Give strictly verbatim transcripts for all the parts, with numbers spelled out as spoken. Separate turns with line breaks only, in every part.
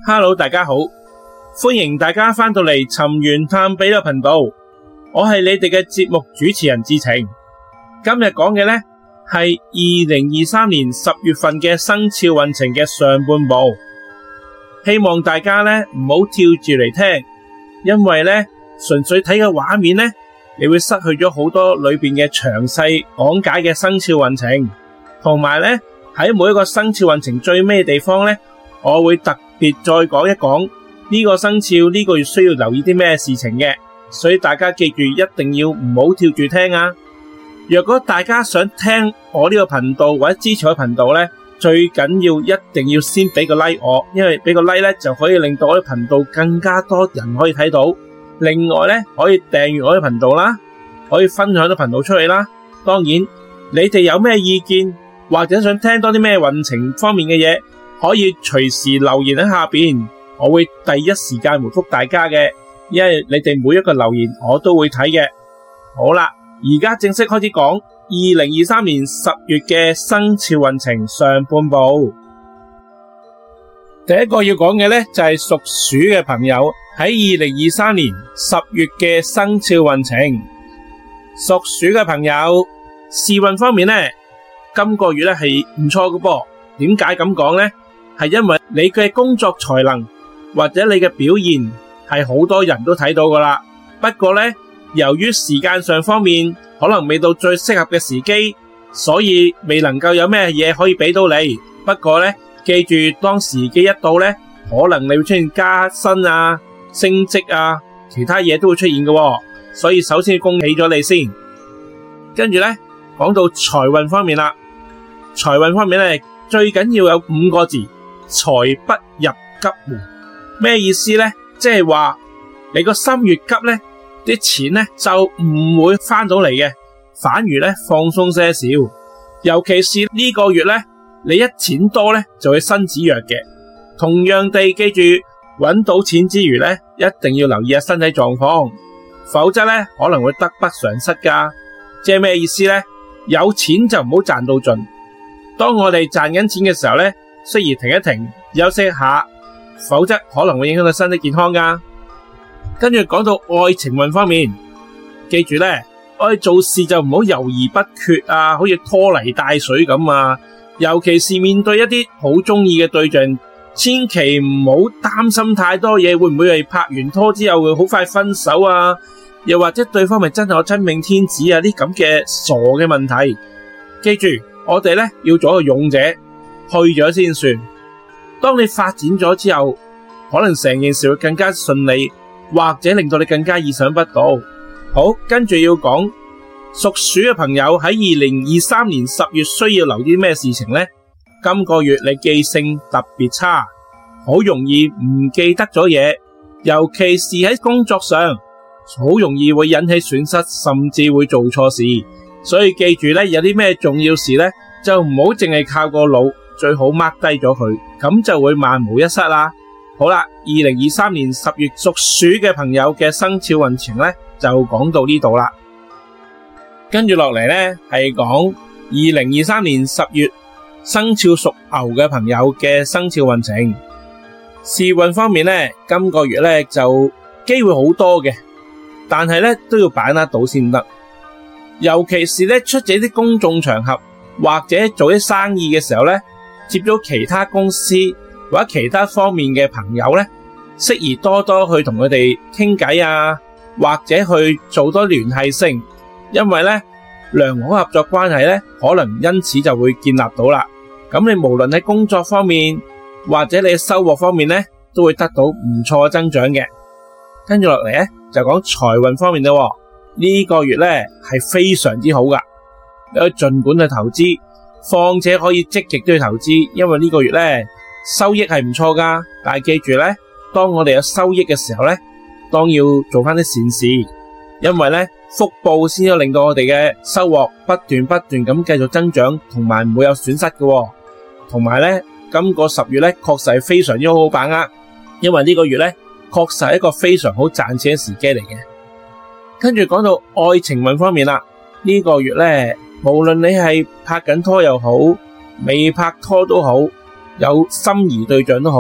Hello， 大家好，歡迎大家返到嚟尋源探秘呢個頻道，我係你哋嘅節目主持人智澄。今日講嘅呢係二零二三年十月份嘅生肖運程嘅上半部，希望大家呢唔好跳住嚟聽，因為呢純粹睇嘅畫面呢，你會失去咗好多裏邊嘅詳細講解嘅生肖運程，同埋呢喺每一個生肖運程最尾嘅地方呢，我會特別再講一講呢個生肖呢個月需要留意啲咩事情嘅，所以大家記住一定要唔好跳住聽啊！若果大家想聽我呢個頻道或者支持我頻道呢，最緊要一定要先俾個 like 我，因為俾個 like 呢就可以令到我啲頻道更加多人可以睇到。另外呢，可以訂閱我啲頻道啦，可以分享啲頻道出去啦。當然，你哋有咩意見或者想聽多啲咩運程方面嘅嘢，可以隨時留言喺下邊，我會第一時間回覆大家嘅，因為你哋每一個留言我都會睇嘅。好啦，而家正式開始講二零二三年十月嘅生肖運程上半部。第一個要講嘅呢，就係屬鼠嘅朋友喺二零二三年十月嘅生肖運程。屬鼠嘅朋友事運方面呢，今個月呢係唔錯嘅噃。點解咁講呢？係因為你嘅工作才能或者你嘅表現係好多人都睇到噶啦。不過呢，由於時間上方面可能未到最適合嘅時機，所以未能夠有咩嘢可以俾到你。不過呢，記住當時機一到呢，可能你會出現加薪啊、升職啊，其他嘢都會出現嘅喎。所以首先恭喜咗你先。跟住呢，講到財運方面啦，財運方面呢，最緊要有五個字：財不入急門。咩意思呢？即係話你個心越急呢，啲錢呢就唔會翻到嚟嘅，反而呢放鬆些少。尤其是呢個月呢，你一錢多呢就會身子弱嘅。同樣地，記住搵到錢之餘呢，一定要留意下身體狀況，否則呢可能會得不償失噶。即係咩意思呢？有錢就唔好賺到盡。當我哋賺緊錢嘅時候呢，適宜停一停，休息一下，否則可能會影響到身體健康噶。跟住講到愛情運方面，記住呢，我哋做事就唔好猶豫不決啊，好似拖泥帶水咁啊。尤其是面對一啲好中意嘅對象，千祈唔好擔心太多嘢，會唔會係拍完拖之後會好快分手啊？又或者對方咪真係我真命天子啊？啲咁嘅傻嘅問題，記住我哋咧要做一個勇者，去咗先算。當你發展咗之後，可能成件事會更加順利，或者令到你更加意想不到。好，跟住要講屬鼠嘅朋友喺二零二三年十月需要留意咩事情呢？今個月你記性特別差，好容易唔記得咗嘢，尤其是喺工作上，好容易會引起損失，甚至會做錯事。所以記住咧，有啲咩重要事咧，就唔好淨係靠個腦，最好 mark 低咗佢，咁就會萬無一失啦。好啦，二零二三年十月屬鼠嘅朋友嘅生肖運程咧，就講到呢度啦。跟住落嚟咧，係講二零二三年十月生肖屬牛嘅朋友嘅生肖運程。事運方面咧，今個月咧就機會好多嘅，但係咧都要把握到先得。尤其是咧出席啲公眾場合或者做啲生意嘅時候咧，接咗其他公司或者其他方面嘅朋友咧，適宜多多去同佢哋傾偈啊，或者去做多聯繫性，因為咧良好合作關係咧，可能因此就會建立到啦。咁你無論喺工作方面或者你嘅收穫方面咧，都會得到唔錯嘅增長嘅。跟住落嚟咧，就講財運方面啦。呢個月咧係非常之好噶，你可以盡管去投資，況且可以積極都去投資，因為呢個月咧收益係唔錯噶。但係記住咧，當我哋有收益嘅時候咧，當要做翻啲善事，因為咧福報先可以令到我哋嘅收穫不斷不斷咁繼續增長，同埋唔會有損失嘅。同埋咧，今個十月咧確實係非常之好好把握，因為呢個月咧確實係一個非常好賺錢嘅時機嚟嘅。跟住講到愛情運方面啦，呢個月咧，無論你係拍緊拖又好，未拍拖都好，有心儀對象都好，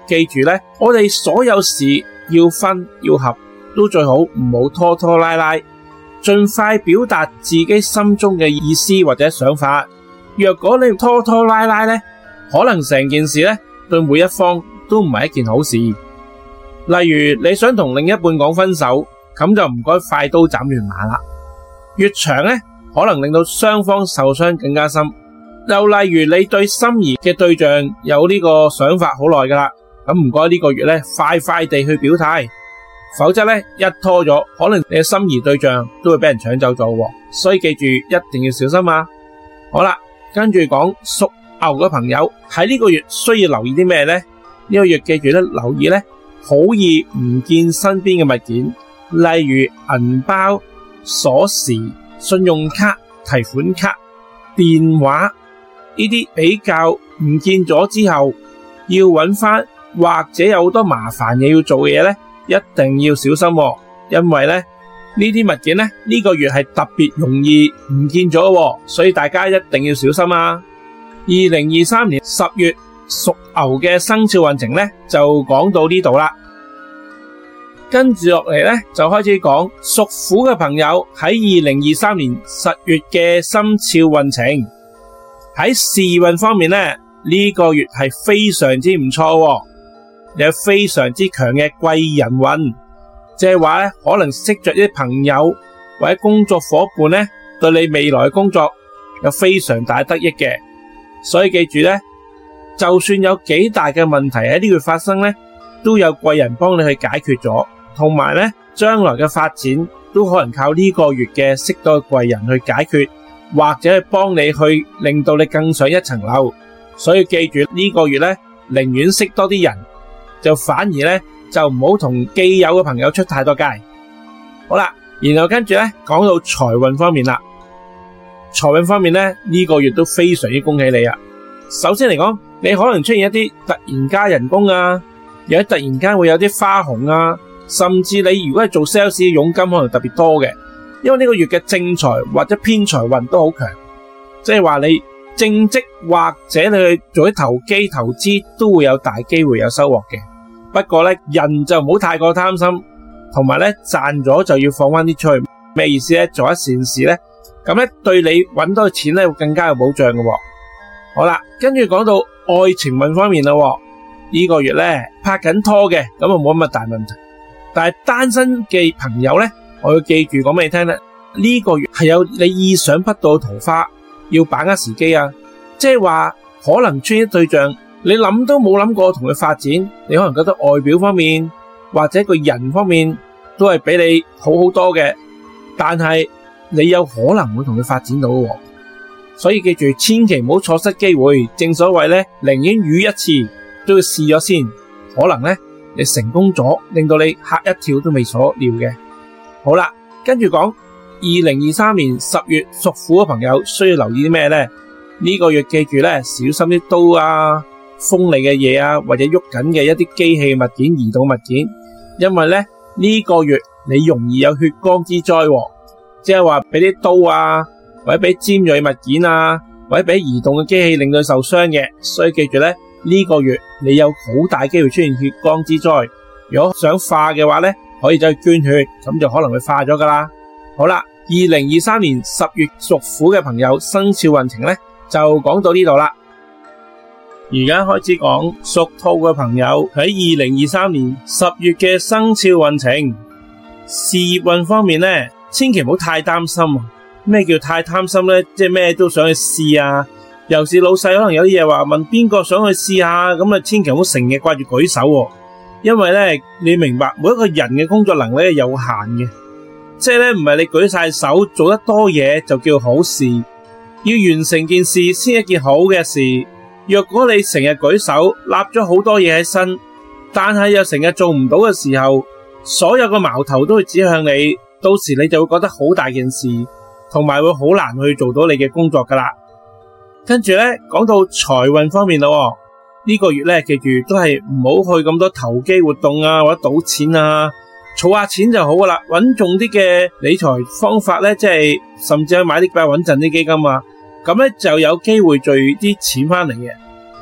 記住咧，我哋所有事要分要合，都最好唔好拖拖拉拉，盡快表達自己心中嘅意思或者想法。若果你拖拖拉拉咧，可能成件事咧對每一方都唔係一件好事。例如你想同另一半講分手，咁就唔該快刀斬亂麻啦。越長咧，可能令到雙方受傷更加深。又例如你對心儀嘅對象有呢個想法好耐噶啦，咁唔該呢個月咧快快地去表態，否則咧一拖咗，可能你嘅心儀對象都會俾人搶走咗，所以記住一定要小心啊！好啦，跟住講屬牛嘅朋友喺呢個月需要留意啲咩咧？呢個月記住咧，留意咧好易唔見身邊嘅物件，例如銀包、鎖匙、信用卡、提款卡、電話。呢啲比較唔見咗之後要揾翻，或者有好多麻煩嘢要做嘅嘢咧，一定要小心，因為咧呢啲物件咧呢個月係特別容易唔見咗，所以大家一定要小心啊！二零二三年十月屬牛嘅生肖運程咧就講到呢度啦，跟住落嚟咧就開始講屬虎嘅朋友喺二零二三年十月嘅生肖運程。喺事運方面咧，呢個月係非常之唔錯，有非常之強嘅貴人運，即係話咧可能識着啲朋友或者工作夥伴咧，對你未來工作有非常大得益嘅。所以記住咧，就算有幾大嘅問題喺呢個月發生咧，都有貴人幫你去解決咗，同埋咧將來嘅發展都可能靠呢個月嘅識到嘅貴人去解決。或者係幫你去令到你更上一層樓，所以記住呢個月咧，寧願識多啲人，就反而咧就唔好同既有嘅朋友出太多街。好啦，然後跟住咧講到財運方面啦，財運方面咧呢個月都非常之恭喜你啊！首先嚟講，你可能出現一啲突然加人工啊，又突然間會有啲花紅啊，甚至你如果係做 sales 嘅佣金可能特別多嘅。因為呢個月嘅正財或者偏財運都好強，即係話你正職或者你去做啲投機投資都會有大機會有收穫嘅。不過咧，人就唔好太過貪心，同埋咧賺咗就要放翻啲出去。咩意思咧？做一善事咧，咁咧對你搵到嘅錢咧會更加有保障嘅。好啦，跟住講到愛情運方面啦，呢個月咧拍緊拖嘅咁啊冇乜大問題，但係單身嘅朋友咧。我要記住講俾你聽咧，呢個月係有你意想不到嘅桃花，要把握時機啊！即係話可能出現對象，你諗都冇諗過同佢發展，你可能覺得外表方面或者個人方面都係比你好好多嘅，但係你有可能會同佢發展到喎。所以記住，千祈唔好錯失機會。正所謂咧，寧願遇一次都要試咗先，可能咧你成功咗，令到你嚇一跳都未所料嘅。好啦，跟住講二零二三年十月屬虎嘅朋友需要留意啲咩咧？呢個月記住咧，小心啲刀啊、鋒利嘅嘢啊，或者喐緊嘅一啲機器物件、移動物件，因為咧呢個月你容易有血光之災，即係話俾啲刀啊，或者俾尖銳物件啊，或者俾移動嘅機器令到受傷嘅，所以記住咧呢個月你有好大機會出現血光之災。如果想化嘅話咧，可以走去捐血，咁就可能會化咗噶啦。好啦，二零二三年十月屬虎嘅朋友生肖運程咧，就講到呢度啦。而家開始講屬兔嘅朋友喺二零二三年十月嘅生肖運程。事業運方面咧，千祈唔好太擔心。咩叫太貪心咧？即係咩都想去試啊。尤其是老細可能有啲嘢話問邊個想去試下，咁啊千祈唔好成日掛住舉手喎。因為咧，你明白每一個人嘅工作能力係有限嘅，即係咧唔係你舉晒手做得多嘢就叫好事，要完成件事先係一件好嘅事。若果你成日舉手立咗好多嘢喺身，但係又成日做唔到嘅時候，所有嘅矛頭都會指向你，到時你就會覺得好大件事，同埋會好難去做到你嘅工作噶啦。跟住咧講到財運方面咯。呢個月咧，記住都係唔好去咁多投機活動啊，或者賭錢啊，儲下錢就好噶啦。穩重啲嘅理財方法咧，即係甚至去買啲比較穩陣啲基金啊，咁咧就有機會聚啲錢翻嚟嘅。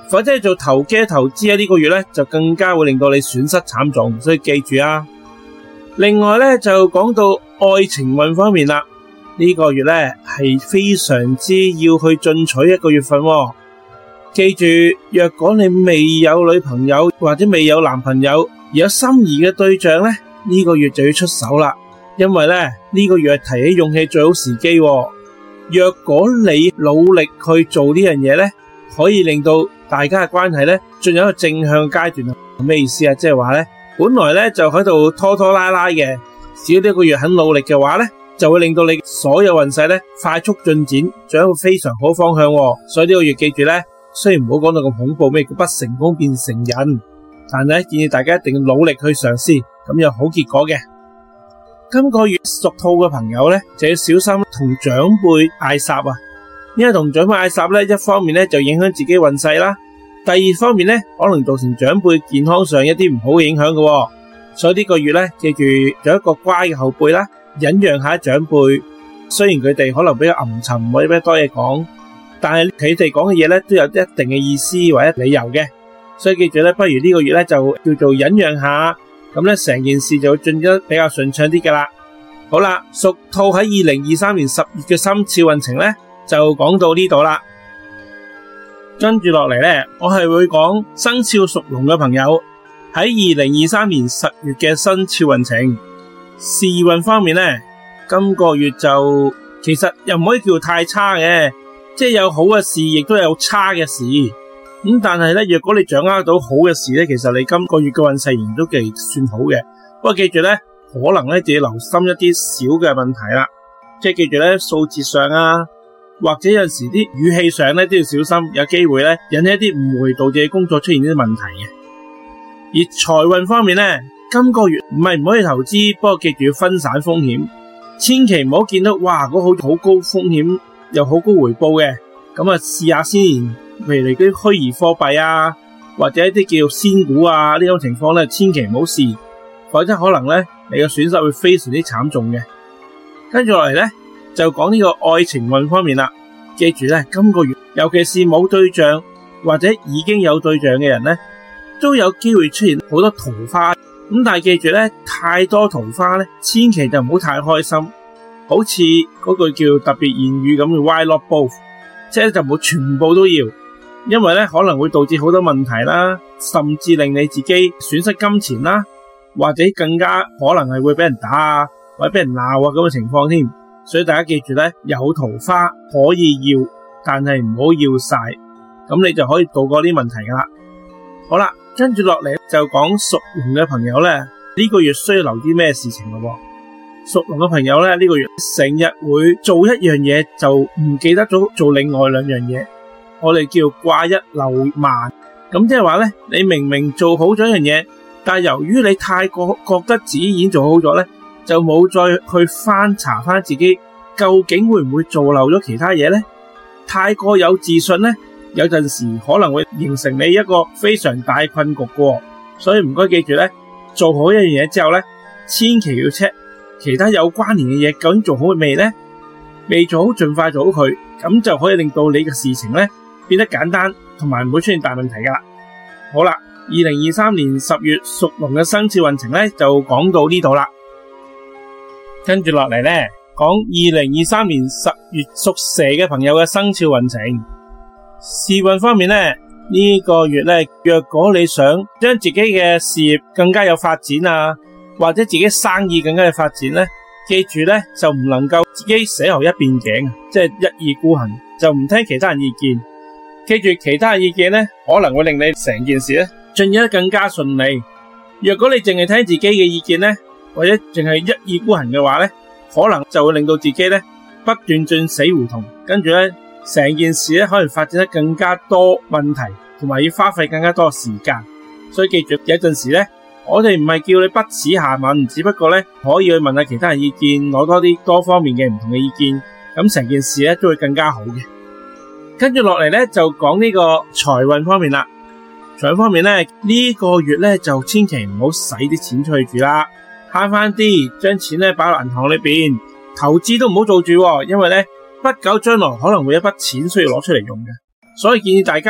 否則做投機投資呢個月咧就更加會令到你損失慘重，所以記住啊。另外咧就講到愛情運方面啦，呢個月咧係非常之要去進取一個月份喎。記住，若果你未有女朋友或者未有男朋友而有心儀嘅對象咧，呢個月就要出手啦，因為咧呢個月係提起勇氣最好時機喎。若果你努力去做呢樣嘢咧，可以令到大家嘅關係咧進入一個正向階段。咩意思啊？即係話咧，本來咧就喺度拖拖拉拉嘅，只要呢個月肯努力嘅話咧，就會令到你所有運勢咧快速進展，仲有一個非常好方向喎。所以呢個月記住咧，雖然唔好講到咁恐怖，咩叫不成功變成仁，但係建議大家一定要努力去嘗試，咁有好結果嘅。今個月屬兔嘅朋友咧，就要小心同長輩嗌霎啊，因為同長輩嗌霎咧，一方面咧就影響自己運勢啦，第二方面咧可能造成長輩健康上一啲唔好嘅影響嘅。所以呢個月咧，記住做一個乖嘅後輩啦，忍讓下長輩，雖然佢哋可能比較陰沉或者比較多嘢講，但係佢哋講嘅嘢咧都有一定嘅意思或者理由嘅，所以記住咧，不如呢個月咧就叫做忍讓下，咁咧成件事就會進得比較順暢啲噶啦。好啦，屬兔喺二零二三年十月嘅生肖運程咧就講到呢度啦。跟住落嚟咧，我係會講生肖屬龍嘅朋友喺二零二三年十月嘅生肖運程。事運方面咧，今個月就其實又唔可以叫太差嘅，即係有好嘅事，亦都有差嘅事。咁但係咧，若果你掌握到好嘅事咧，其實你今個月嘅運勢仍然都幾算好嘅。不過記住咧，可能咧就要留心一啲小嘅問題啦，即係記住咧數字上啊，或者有陣時啲語氣上咧都要小心，有機會咧引起一啲誤會，導致你工作出現呢啲問題嘅。而財運方面咧，今個月唔係唔可以投資，不過記住要分散風險，千祈唔好見到哇嗰好好高風險又好高回報嘅，咁啊試下先。譬如你啲虛擬貨幣啊，或者一啲叫仙股啊呢種情況咧，千祈唔好試，否則可能咧你嘅損失會非常之慘重嘅。跟住落嚟咧就講呢個愛情運方面啦，記住咧今個月尤其是冇對象或者已經有對象嘅人咧，都有機會出現好多桃花。咁但係記住咧，太多桃花咧，千祈就唔好太開心，好似嗰句叫特別言語咁嘅 Why not both， 即係就唔好全部都要，因為咧可能會導致好多問題啦，甚至令你自己損失金錢啦，或者更加可能係會俾人打啊，或者俾人鬧啊咁嘅情況添。所以大家記住咧，有桃花可以要，但係唔好要晒，咁你就可以度過呢啲問題噶啦。好啦，跟住落嚟就講屬龍嘅朋友咧，呢個月需要留啲咩事情咯？屬龍嘅朋友咧，呢個月成日會做一樣嘢就唔記得咗做另外兩樣嘢，我哋叫掛一漏萬。咁即係話咧，你明明做好咗一樣嘢，但係由於你太過覺得自己已經做好咗咧，就冇再去翻查翻自己究竟會唔會做漏咗其他嘢咧？太過有自信咧，有陣時可能會形成你一個非常大困局嘅。所以唔該記住咧，做好一樣嘢之後咧，千祈要 check 其他有關聯嘅嘢究竟做好未咧？未做好盡快做好佢，咁就可以令到你嘅事情咧變得簡單，同埋唔會出現大問題噶啦。好啦，二零二三年十月屬龍嘅生肖運程咧就講到呢度啦。跟住落嚟咧，講二零二三年十月屬蛇嘅朋友嘅生肖運程。事運方面咧，呢個月咧，若果你想將自己嘅事業更加有發展啊，或者自己生意更加有發展咧，記住咧就唔能夠自己死牛一邊頸，即係一意孤行，就唔聽其他人意見。記住其他人意見咧，可能會令你成件事咧進行得更加順利。若果你淨係聽自己嘅意見咧，或者淨係一意孤行嘅話咧，可能就會令到自己咧不斷進死胡同，跟住咧成件事咧可能發展得更加多問題，同埋要花費更加多時間。所以記住，有陣時咧，我哋唔係叫你不恥下問，只不過咧可以去問下其他人意見，攞多啲多方面嘅唔同嘅意見，咁成件事咧都會更加好嘅。跟住落嚟咧就講呢個財運方面啦。財運方面咧，呢個月咧就千祈唔好使啲錢出去住啦，慳翻啲，將錢咧擺落銀行裏邊，投資都唔好做住，因為咧不久將來可能會有一筆錢需要攞出嚟用嘅，所以建議大家咧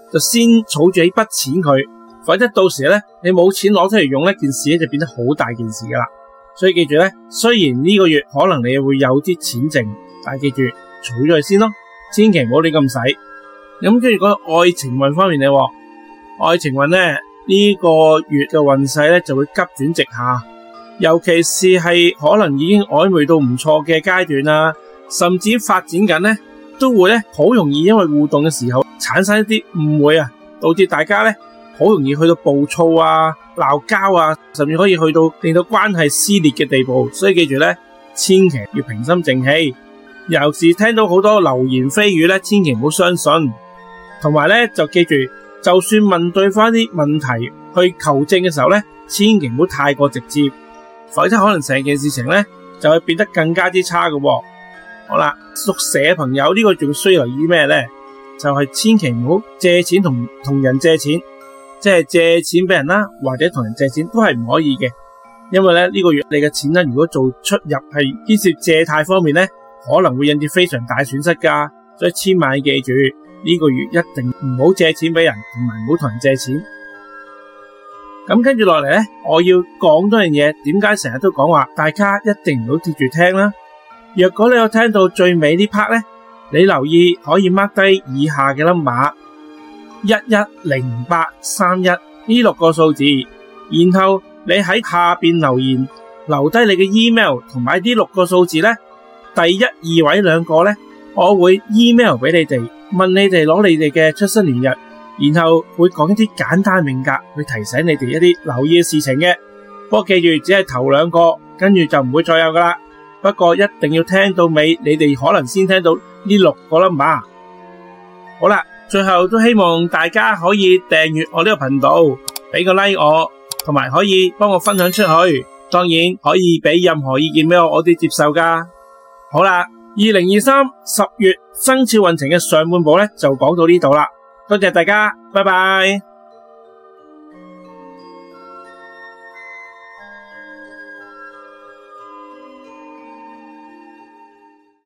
就先儲住一筆錢佢，否則到時咧你冇錢攞出嚟用呢件事咧就變得好大件事噶啦。所以記住咧，雖然呢個月可能你會有啲錢剩，但係記住儲咗佢先咯，千祈唔好亂咁使。咁跟住講愛情運方面咧，愛情運咧呢個月嘅運勢咧就會急轉直下，尤其是係可能已經曖昧到唔錯嘅階段啊，甚至發展緊咧，都會咧好容易因為互動嘅時候產生一啲誤會啊，導致大家咧好容易去到暴躁啊、鬧交啊，甚至可以去到令到關係撕裂嘅地步。所以記住咧，千祈要平心靜氣，尤其是聽到好多流言蜚語咧，千祈唔好相信。同埋咧就記住，就算問對方啲問題去求證嘅時候咧，千祈唔好太過直接，否則可能成件事情咧就會變得更加之差嘅喎。好啦，屬蛇嘅朋友呢個仲需要留意咩咧？就係千祈唔好借錢同同人借錢，即係借錢俾人啦，或者同人借錢都係唔可以嘅。因為咧呢個月你嘅錢咧，如果做出入係牽涉借貸方面咧，可能會引致非常大損失噶。所以千萬記住，呢個月一定唔好借錢俾人，同埋唔好同人借錢。咁跟住落嚟咧，我要講多樣嘢。點解成日都講話大家一定唔好貼住聽啦？若果你有聽到最尾呢 part 咧，你留意可以 mark 低以下嘅 number 一一零八三一呢六個數字，然後你喺下邊留言留低你嘅 email 同埋呢六個數字咧，第一二位兩個咧，我會 email 俾你哋，問你哋攞你哋嘅出生年日，然後會講一啲簡單命格去提醒你哋一啲留意嘅事情嘅。不過記住，只係頭兩個，跟住就唔會再有噶啦。不過一定要聽到尾，你哋可能先聽到呢六個 number。好啦，最後都希望大家可以訂閱我呢個頻道，俾個 like 我，同埋可以幫我分享出去。當然可以俾任何意見俾我，我都接受噶。好啦，二零二三十月生肖運程嘅上半部咧就講到呢度啦。多謝大家，拜拜。